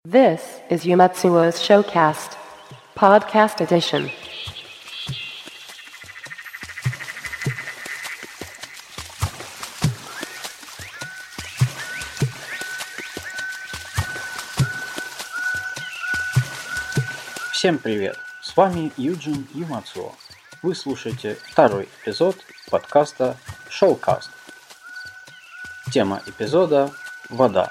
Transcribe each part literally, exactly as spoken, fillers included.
This is Yumatsuo's Showcast, Podcast Edition. Всем привет! С вами Юджин Юмацуо. Вы слушаете второй эпизод подкаста Showcast. Тема эпизода – вода.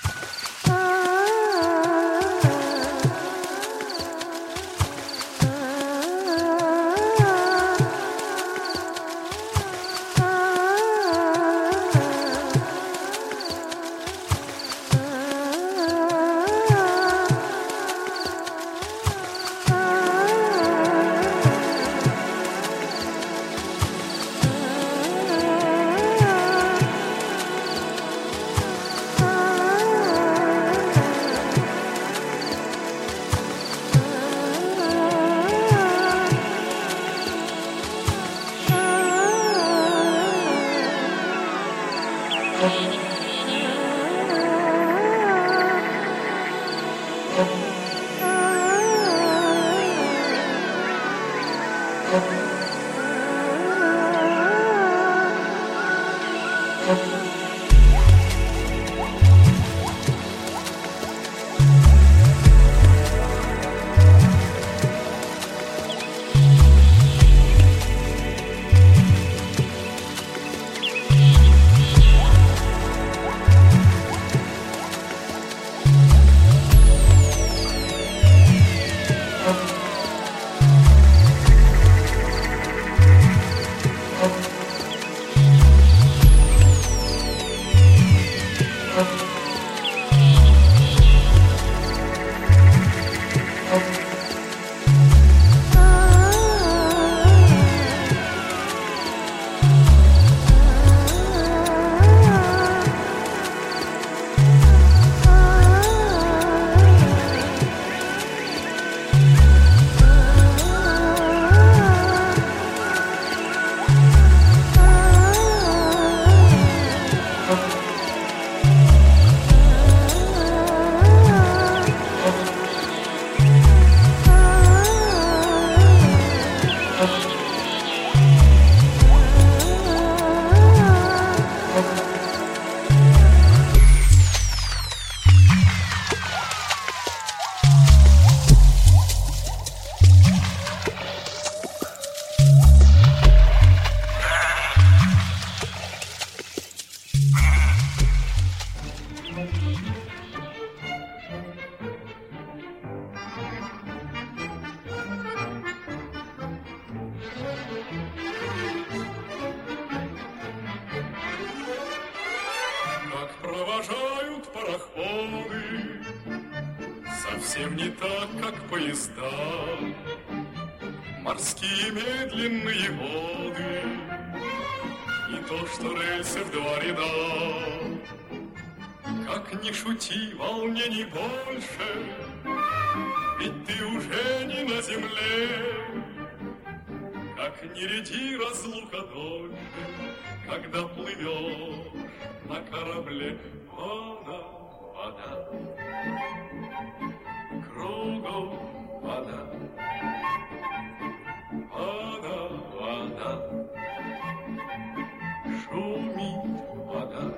Совсем не так, как поезда, морские медленные воды, не то, что рельсы в два ряда. Как ни шути, волнений больше, ведь ты уже не на земле. Как ни ряди разлука дольше, когда плывешь на корабле. Вода, вода, кругом вода, вода, вода, шумит вода.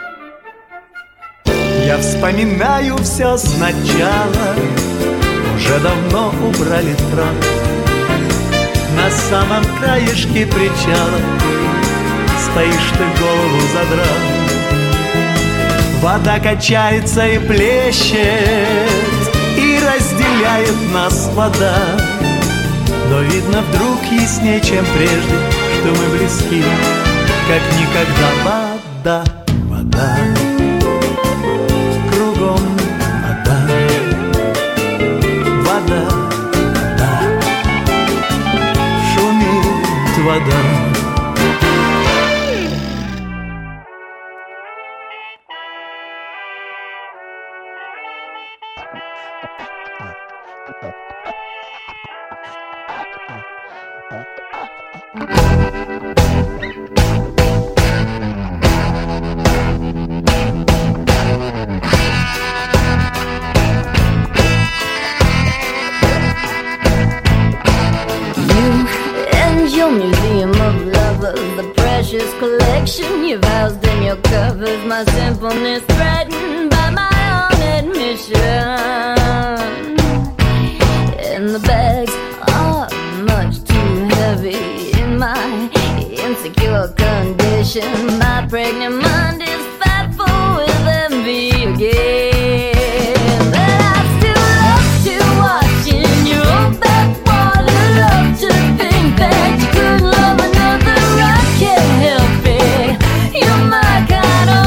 Я вспоминаю все сначала, уже давно убрали трап. На самом краешке причала стоишь ты, голову задрав. Вода качается и плещет, и разделяет нас вода. Но видно вдруг яснее, чем прежде, что мы близки, как никогда. Вода, вода, кругом вода, вода, вода, шумит вода. museum of lovers, the precious collection you've housed in your covers. My simpleness threatened by my own admission. And the bags are much too heavy in my insecure condition. My pregnant mind is fatful with envy again. But I still love to watch in your own backwater. Love to think that you could love another. I can't help it. You're my kind of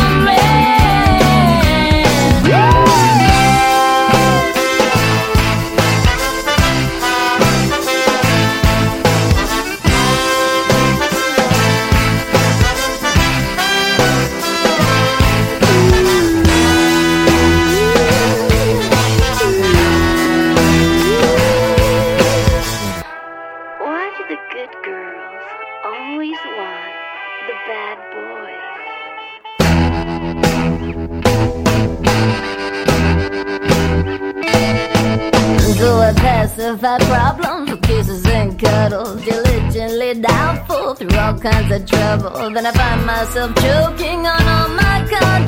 pacify problems with kisses and cuddles, diligently doubtful through all kinds of trouble. Then I find myself choking on all my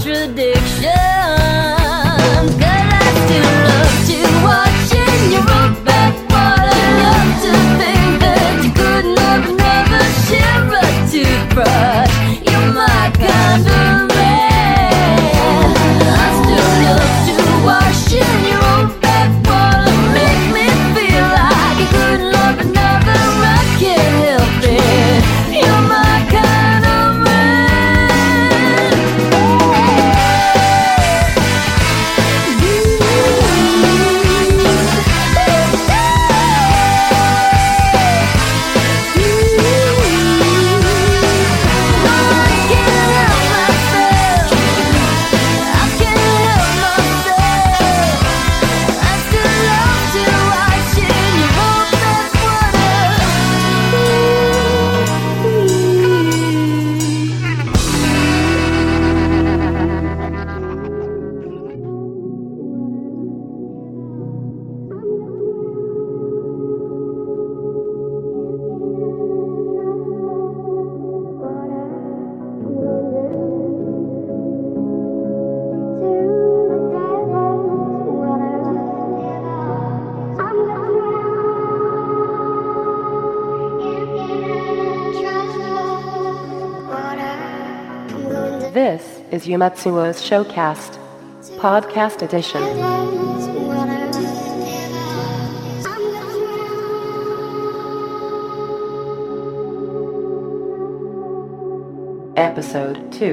contradictions. Cause I still love to watch in your own backwater. Love to think that you could love another. Share a toothbrush. You're my kind of man. I still love to wash in your own backwater. Make me feel like you could love another. I can't help it. You're my kind of man. This is Yumatsuo's Showcast, Podcast Edition. Episode two.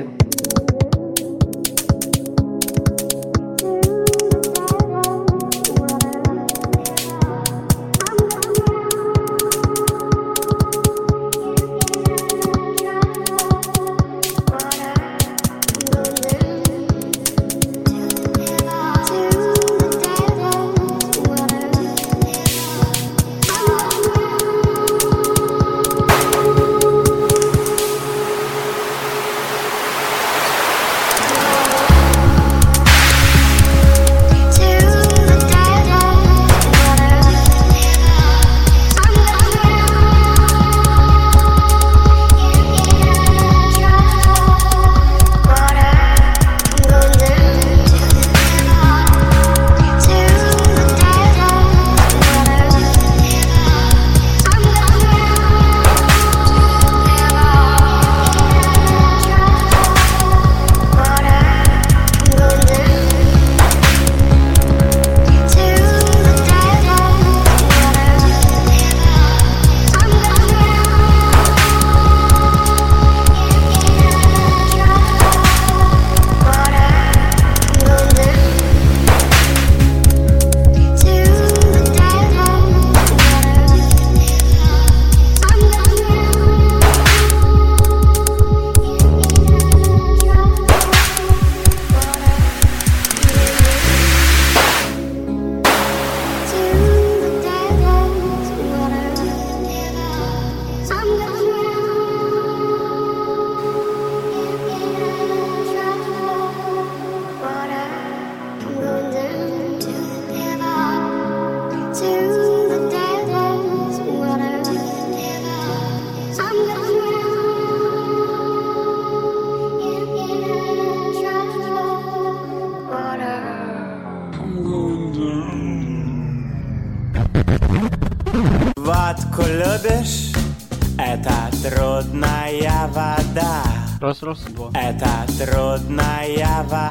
Водку любишь? Это трудная вода. Раз, раз, два. Это трудная вода.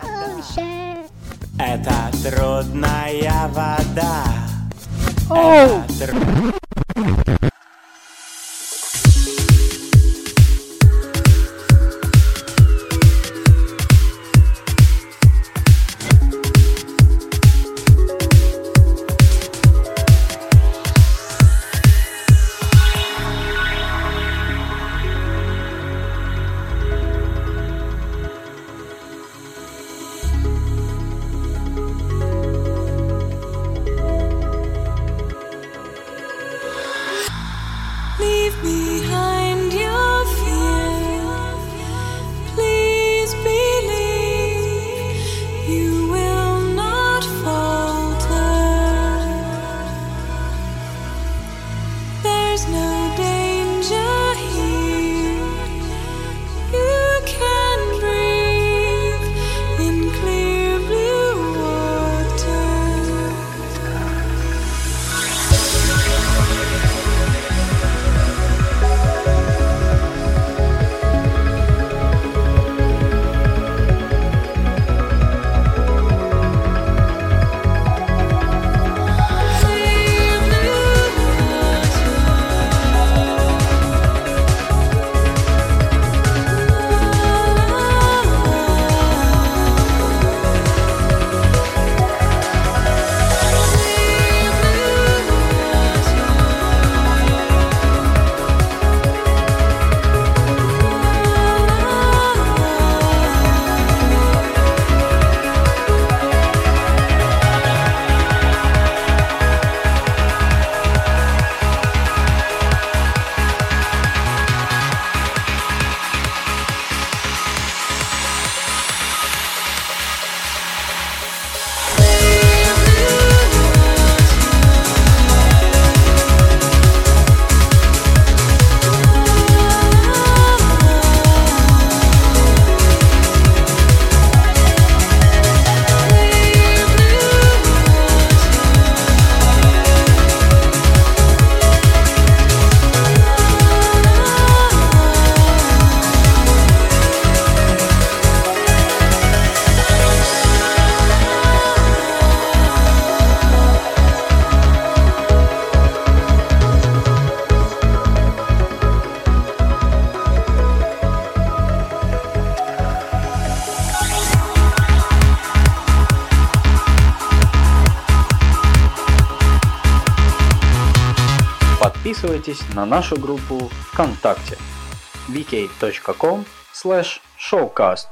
Это трудная вода. Это тр- Leave behind your fear. Please believe you will not falter. There's no danger here. You can breathe in clear blue water. Подписывайтесь на нашу группу ВКонтакте vk.com slash showcast.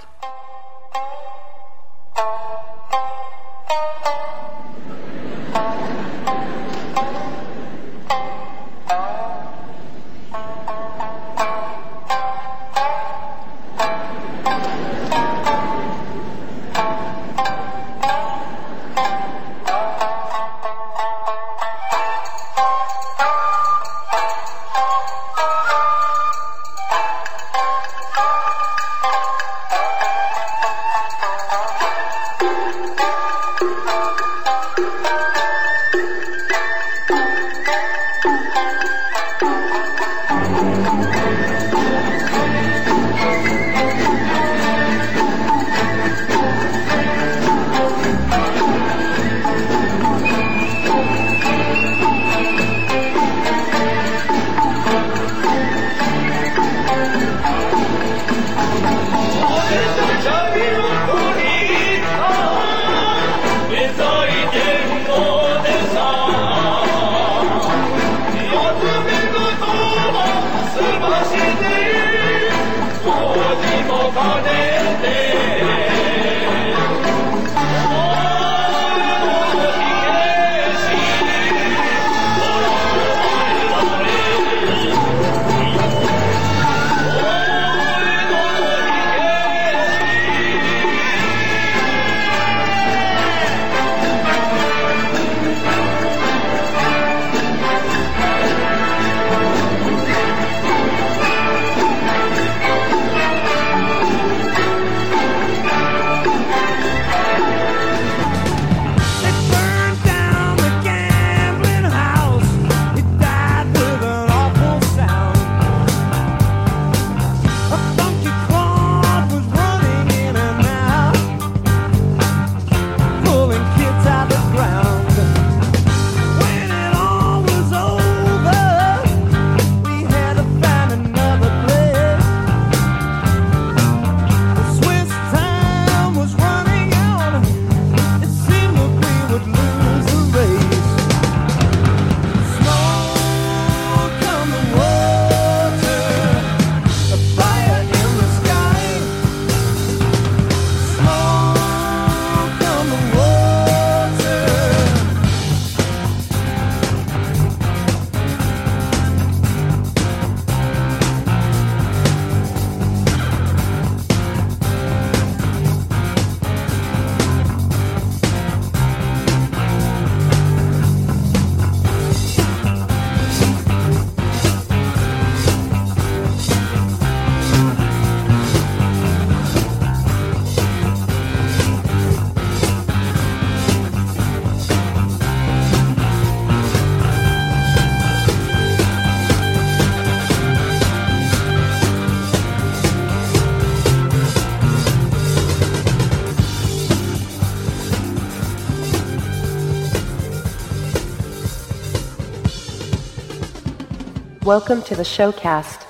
Welcome to the showcast.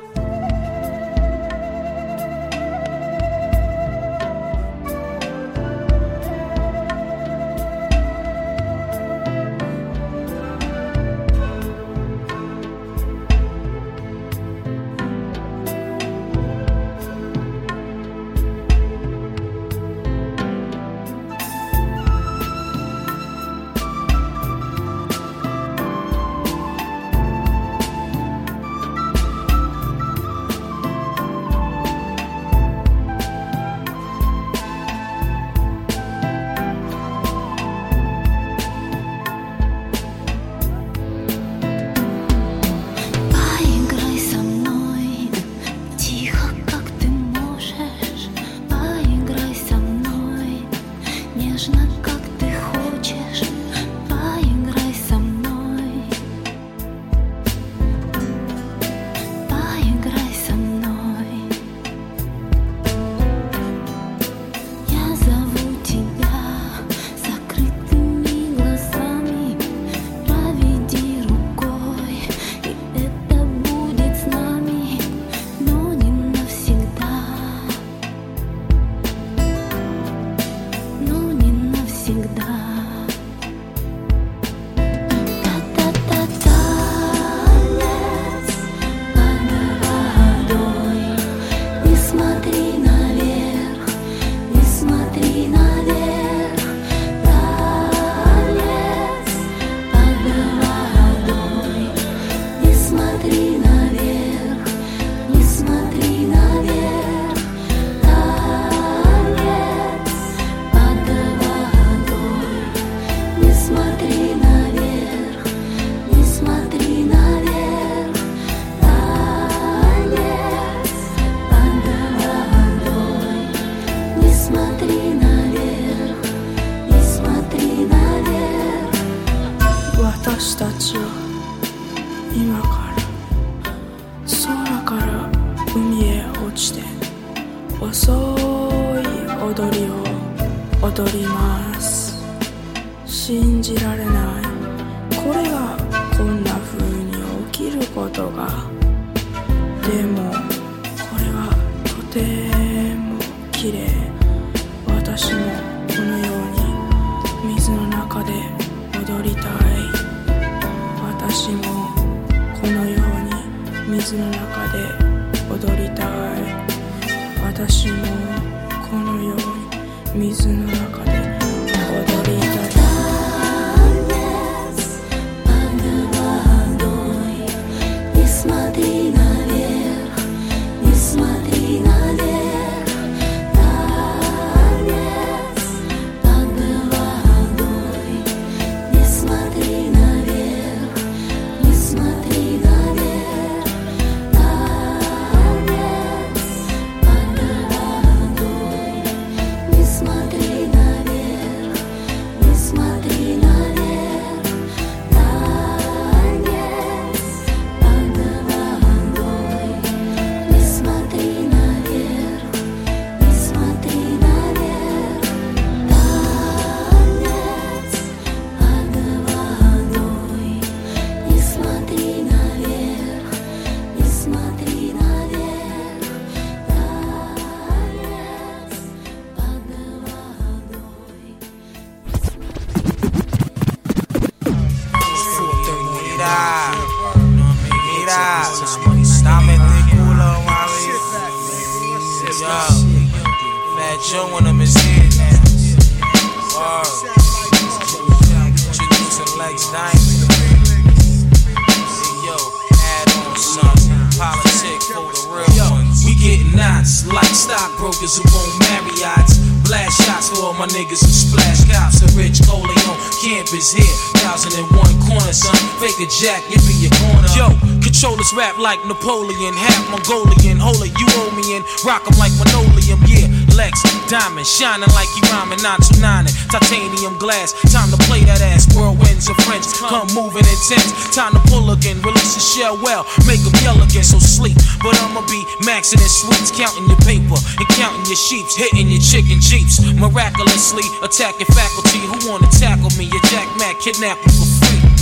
Jack, it be your corner. Yo, controllers rap like Napoleon, half Mongolian. Hold it, you owe me in. Rock 'em like linoleum, yeah. Lex, diamond, shining like he rhyming, not two nine. Titanium glass, time to play that ass. Whirlwinds of French, come moving intense. Time to pull again, release the shell well, make 'em yell again, so sleep. But I'ma be maxing in sweets, counting your paper and counting your sheeps, hitting your chicken jeeps. Miraculously attacking faculty who wanna tackle me. Your Jack Mac kidnapping for free. What?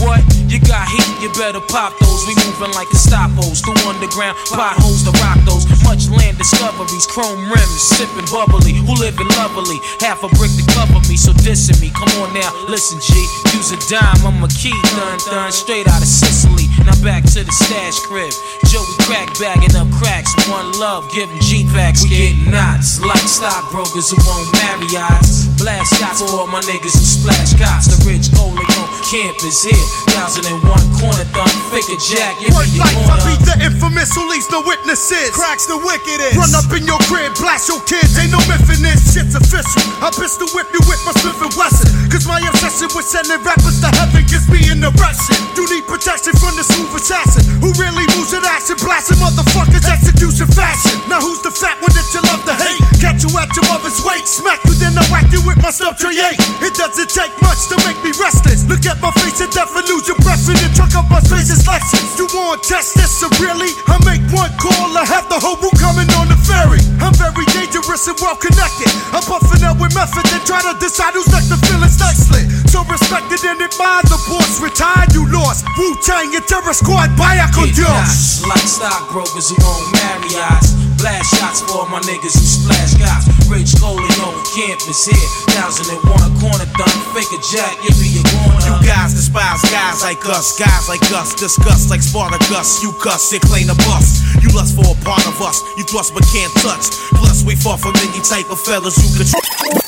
You got heat, you better pop those. We moving like Estapos through underground potholes to rock those. Much land discoveries, chrome rims, sipping bubbly. Who living lovely? Half a brick to cover me, so dissing me. Come on now, listen, G. Use a dime, I'm a key, dun dun, straight out of Sicily. Now back to the stash crib. Joey crack bagging up cracks. One love, giving G-packs. We get knots like stockbrokers who won't marry odds. Blast shots for all my niggas who splash cops. The rich Corleone camp is here. Thousand and one corner thumb, fake a jack. You Word life, I be the infamous who leaves no witnesses. Cracks the wickedest. Run up in your crib, blast your kids. Ain't no myth in this. Shit's official. I pistol whip you with my Smith and Wesson. Cause my obsession with sending rappers to heaven gives me an erection. You need protection from the smooth assassin who really moves at action, blasting motherfuckers execution fashion. Now who's the fat one that you love to hate? Catch you at your mother's weight, smack you then I whack you with my stuff tray eight. It doesn't take much to make me restless. Look at my face and death and lose your breath in the truck up my space's Lexus. You want to test this or really? I make one call, I have the whole room coming on the ferry. I'm very dangerous and well connected. I'm buffing out with method and try to decide who's next to feel it's nicely. So respected and admired, the boss retired, you lost. Wu-Tang and Terror Squad, vaya con Dios. Like stockbrokers who won't marry odds. Blast shots for all my niggas who splash cops. Rich Corleone campus here. Thousand and one corner thumb, fake a jack, you be a corner. You guys despise guys like us, guys like us. Discuss like Spartacus, you cuss and claim a bust. You lust for a part of us, you thrust but can't touch. Plus we far from any type of fellas you could.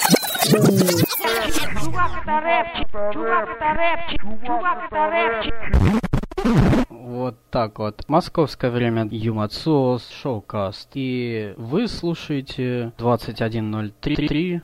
Вот так вот. Московское время, Юмацос, Шоукаст. И вы слушаете двадцать один ноль три.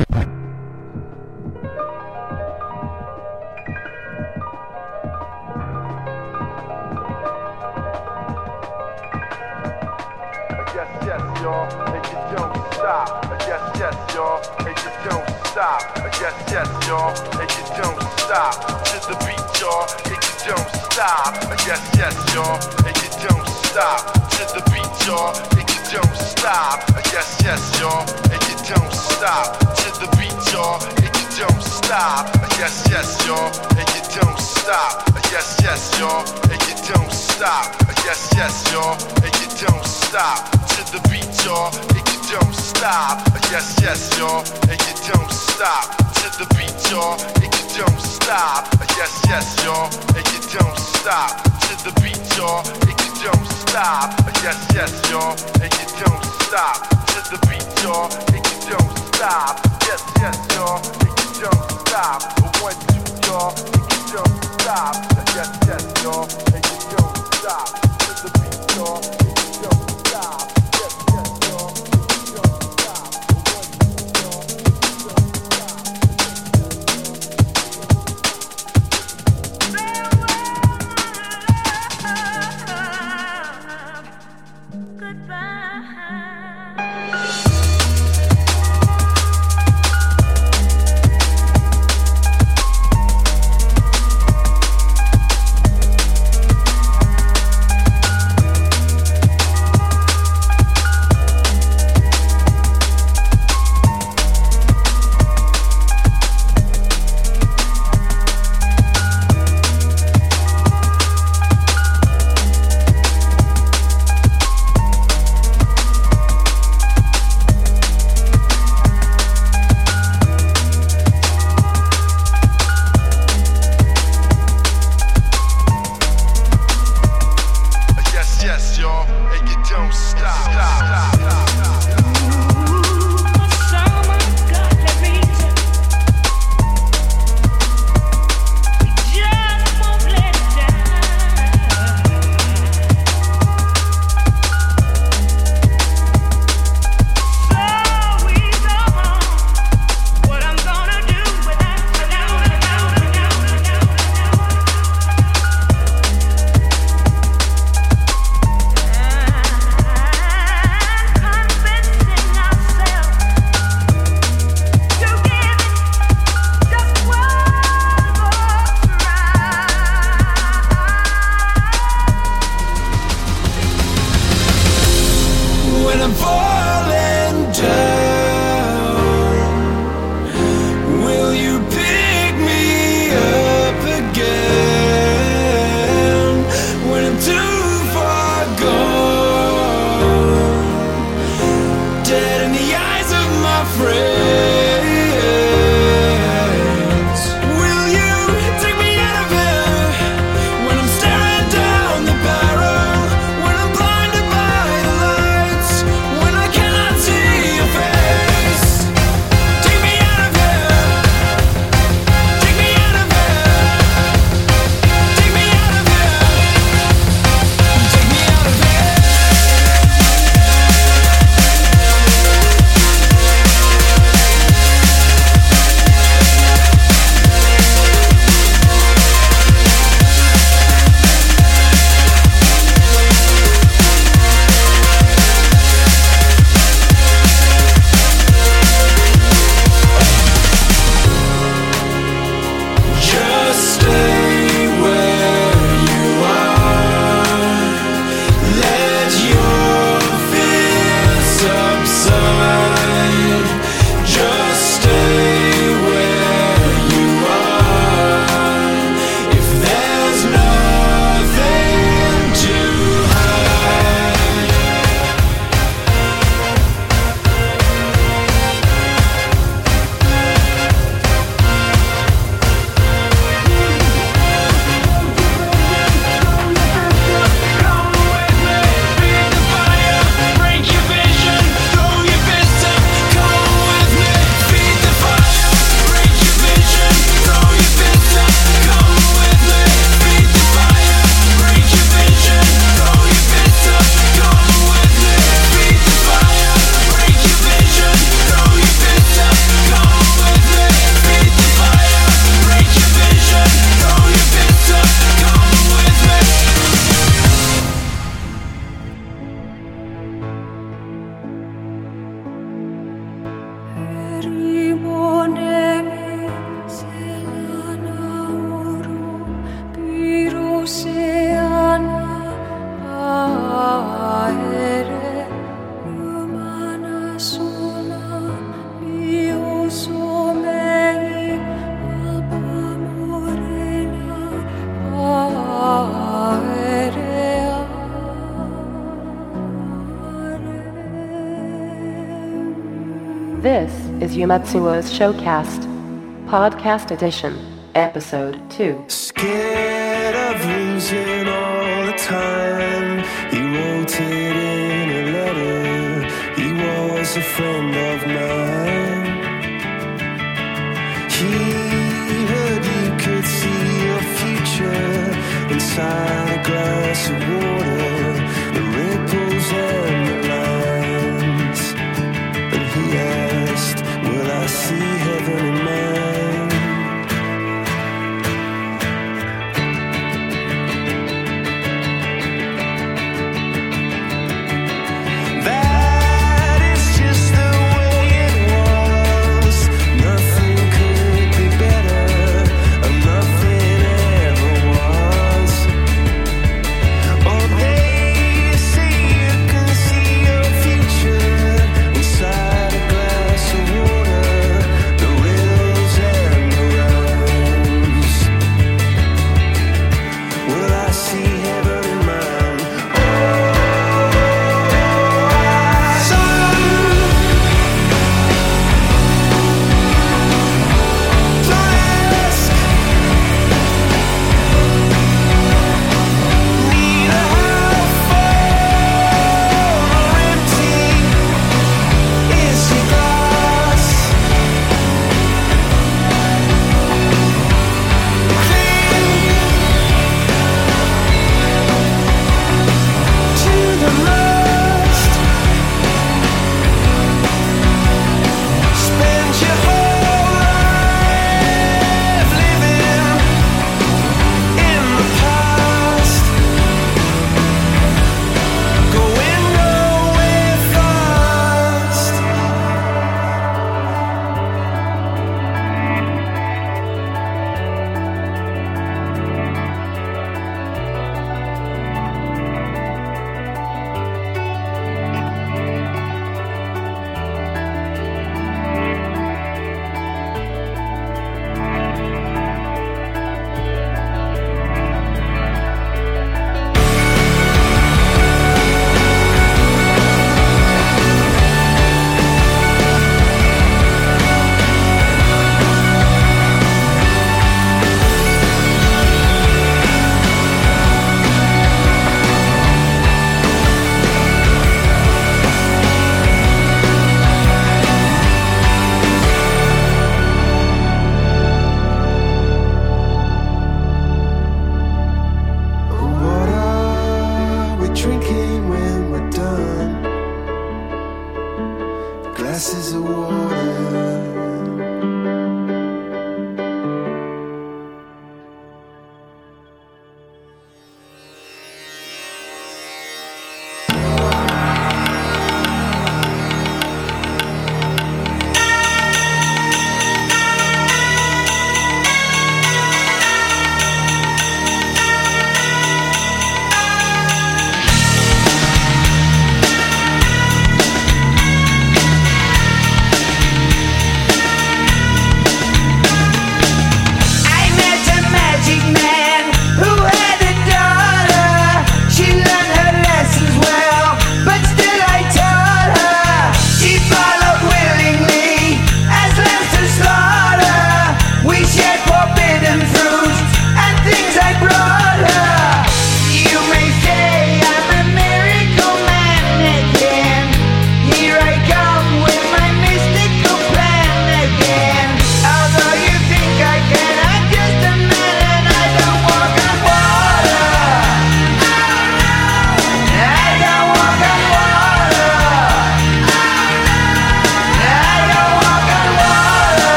Stop, yes, yes, y'all, and you don't stop to the beat, y'all, and you don't stop, yes, yes, y'all, and you don't stop to the beat, y'all, and you don't stop, yes, yes, y'all, and you don't stop, yes, yes, y'all, and you don't stop, yes, yes, y'all, and you don't stop to the beat, y'all, and you don't stop, yes, yes, y'all, and you don't stop to the beat, y'all, and you don't stop, yes, yes, y'all, and you don't stop to the beat, y'all, and you don't stop, yes, yes, y'all, and you don't stop to the beat, y'all, and you don't stop, yes, yes, y'all, and you don't stop, one, two, y'all, and you don't stop, yes, yes, y'all, and you don't stop to the beat, y'all, and you don't stop, yes, yes, y'all, and you don't stop, one, two, y'all, and you don't Luciana aere humana suna io somei alba morena aere This is Yumatsuo's Showcast, Podcast Edition, Episode two. Scared of losing all the time. He wrote it in a letter. He was a friend of mine. He heard you could see your future inside a glass of water. The ripples and the lines. And he asked, will I see heaven in mine? That is just the way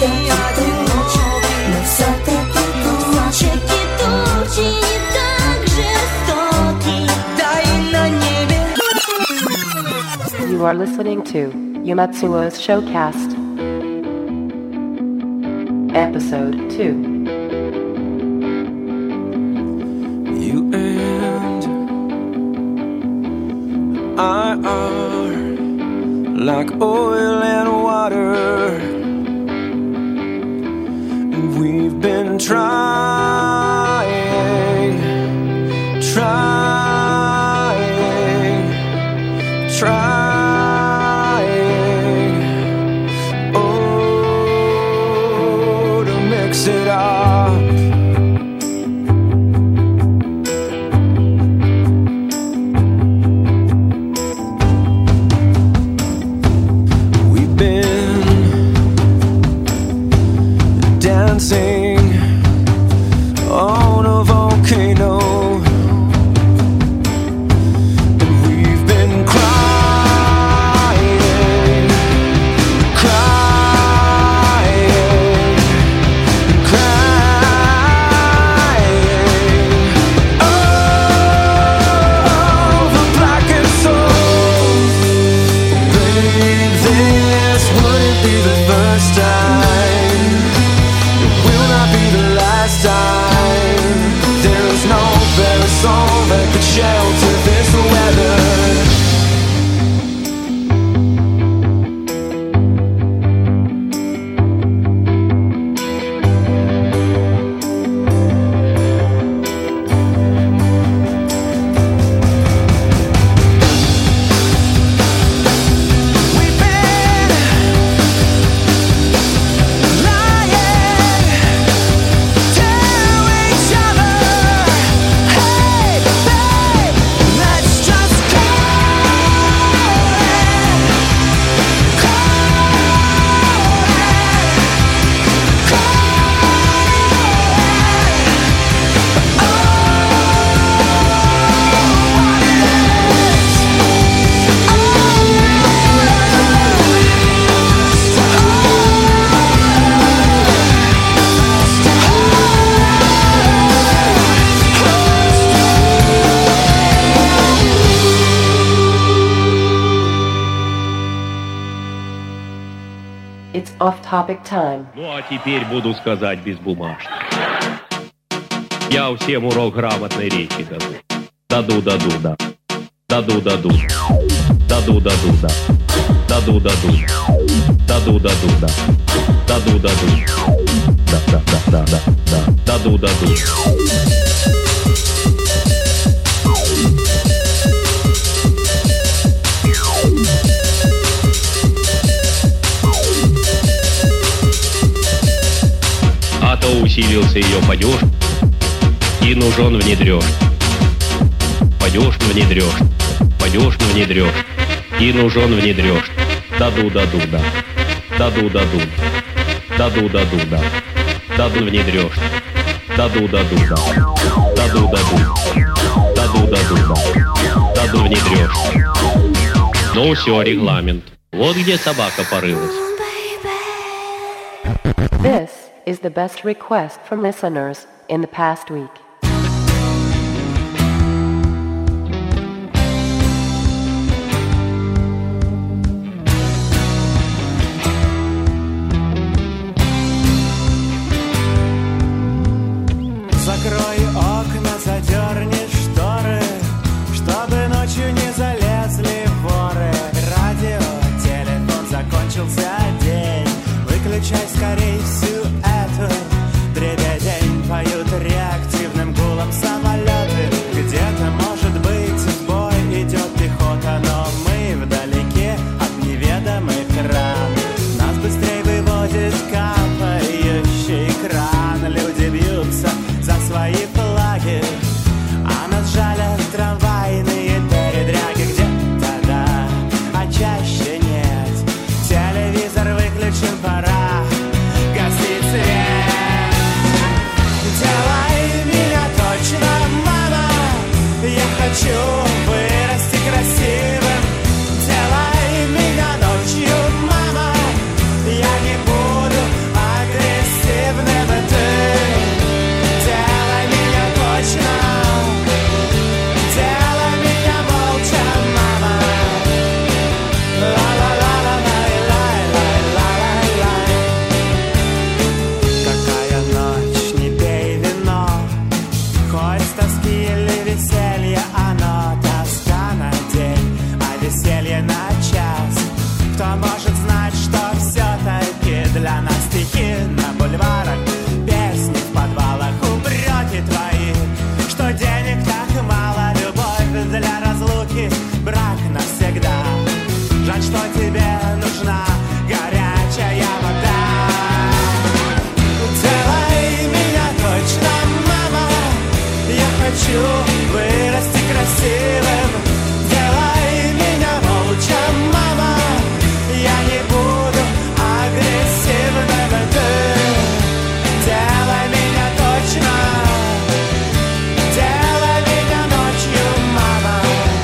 все-таки тучи, но все-таки тучи, тучи не так жестоки. Да и на небе. You are listening to Yumatsuo's Showcast, Episode two. You and I are like oil and water, and we've been trying, trying, trying. It up. We've been dancing on a volcano, and we've been crying, crying. Song that could shelter this weather. It's off-topic time. Ну а теперь буду сказать безбумажно. Я всем урок грамотной речи даду. Даду, даду, да. Даду, даду. Даду, даду, да. Даду, даду. Даду, даду, да. Даду, даду. Да, да, да, да, да, да. Даду, даду. А то усилился ее падеж, и нужен внедрешь. Падеж внедрешь, падеж внедрешь, и нужен внедрешь. Даду, даду, да. Даду, даду. Даду, даду, да. Даду внедрешь. Даду, даду, да. Даду, даду. Даду, даду, да. Даду внедрешь. Ну все, регламент. Вот где собака порылась. This is the best request from listeners in the past week. Закрой окна, задерни шторы, чтобы ночью не залезли воры. Радио, телефон, закончился день. Выключай скорей всю эту дребедень. Поют реактивно стихи на бульварах, песни в подвалах, упреки твои, что денег так мало, любовь для разлуки, брак навсегда. Жаль, что тебе нужна горячая вода. Делай меня точно, мама, я хочу вырасти красивым. Делай меня молча, мама, я не буду агрессивным. Ты делай меня точно, делай меня ночью, мама.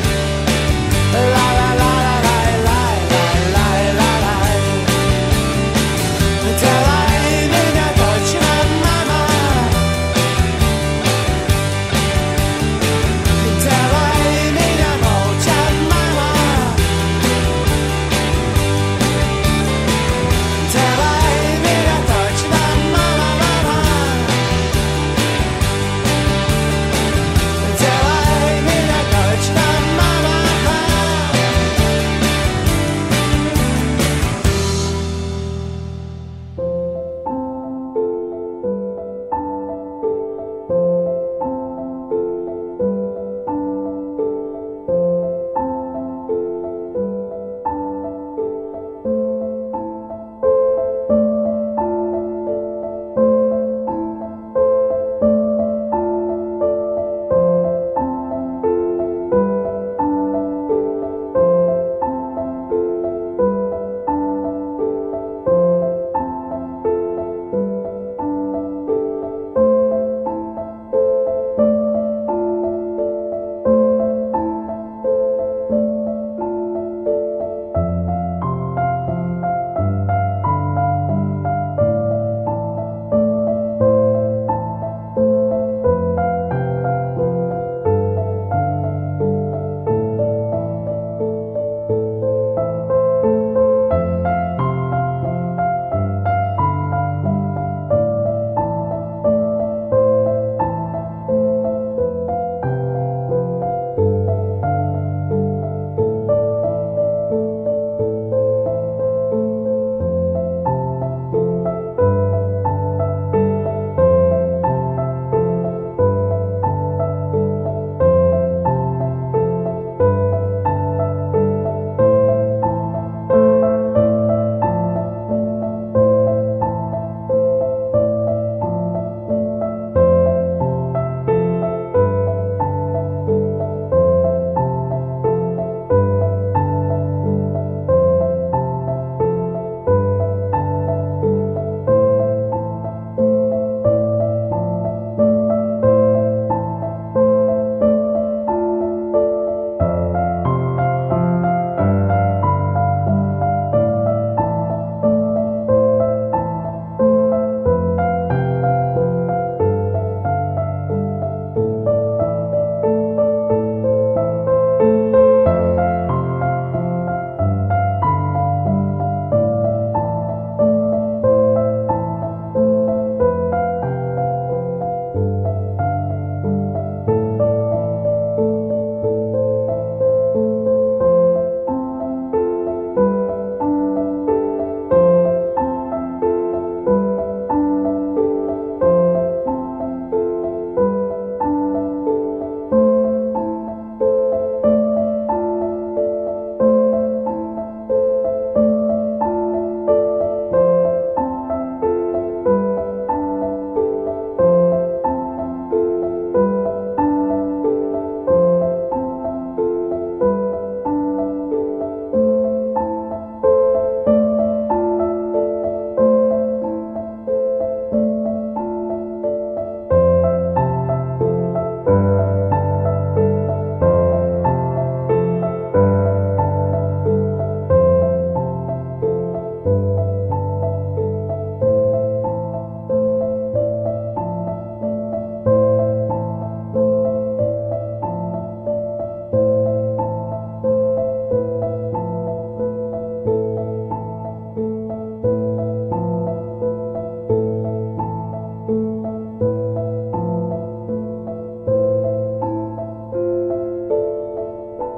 Делай меня точно, мама. Делай меня молча, мама. Делай меня точно, мама, мама. Делай меня точно, мама.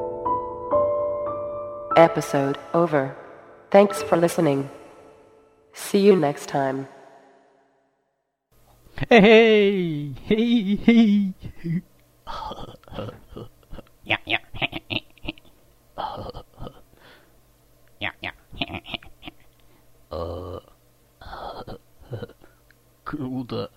Episode over. Thanks for listening. See you next time. Эй, эй, эй. Я, я. Я, я. Круто.